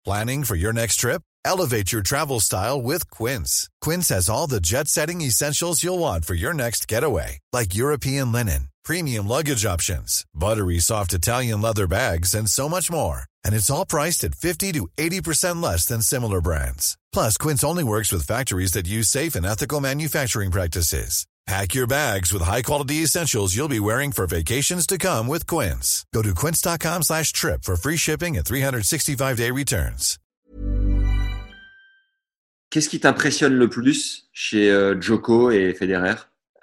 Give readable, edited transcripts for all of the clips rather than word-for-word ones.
Planning for your next trip? Elevate your travel style with Quince. Quince has all the jet-setting essentials you'll want for your next getaway, like European linen, premium luggage options, buttery soft Italian leather bags, and so much more. And it's all priced at 50 to 80% less than similar brands. Plus, Quince only works with factories that use safe and ethical manufacturing practices. Pack your bags with high-quality essentials you'll be wearing for vacations to come with Quince. Go to quince.com/trip for free shipping and 365-day returns. Qu'est-ce qui t'impressionne le plus chez Djoko et Federer?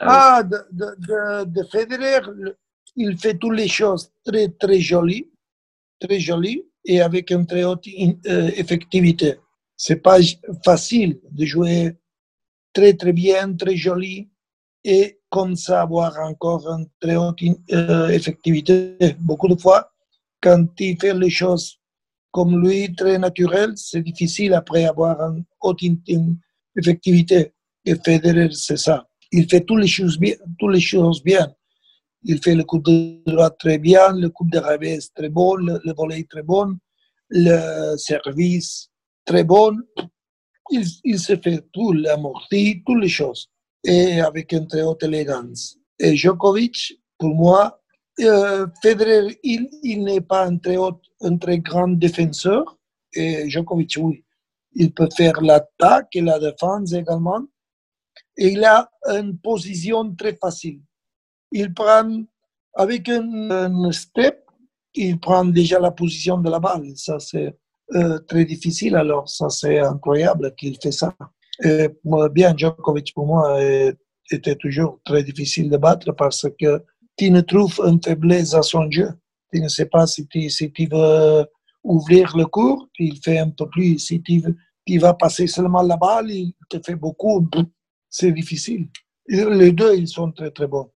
De Federer, il fait toutes les choses très, très jolies et avec une très haute effectivité. C'est pas facile de jouer très, très bien, très joli et comme ça avoir encore une très haute effectivité. Beaucoup de fois, quand il fait les choses comme lui, très naturel, c'est difficile après avoir une haute effectivité. Et Federer, c'est ça. Il fait toutes les choses bien. Il fait le coup de droite très bien, le coup de revers très bon, le volley très bon, le service très bon. Il se fait tout, l'amorti, toutes les choses. Et avec une très haute élégance. Et Djokovic, pour moi, Federer, il n'est pas un très grand défenseur. Et Djokovic, oui. Il peut faire l'attaque et la défense également. Et il a une position très facile. Il prend, avec un step, il prend déjà la position de la balle. Ça, c'est très difficile. Alors, ça, c'est incroyable qu'il fait ça. Et, bien, Djokovic, pour moi, était toujours très difficile de battre parce que tu ne trouves une faiblesse à son jeu. Tu ne sais pas si tu veux ouvrir le cours, il fait un peu plus. Si tu vas passer seulement la balle, il te fait beaucoup. C'est difficile. Les deux, ils sont très, très bons.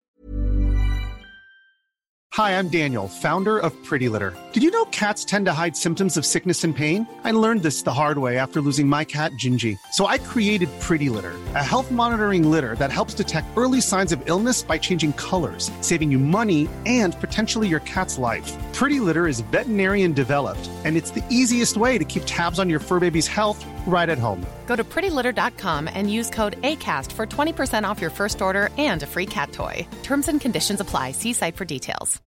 Hi, I'm Daniel, founder of Pretty Litter. Did you know cats tend to hide symptoms of sickness and pain? I learned this the hard way after losing my cat, Gingy. So I created Pretty Litter, a health monitoring litter that helps detect early signs of illness by changing colors, saving you money and potentially your cat's life. Pretty Litter is veterinarian developed, and it's the easiest way to keep tabs on your fur baby's health right at home. Go to prettylitter.com and use code ACAST for 20% off your first order and a free cat toy. Terms and conditions apply. See site for details.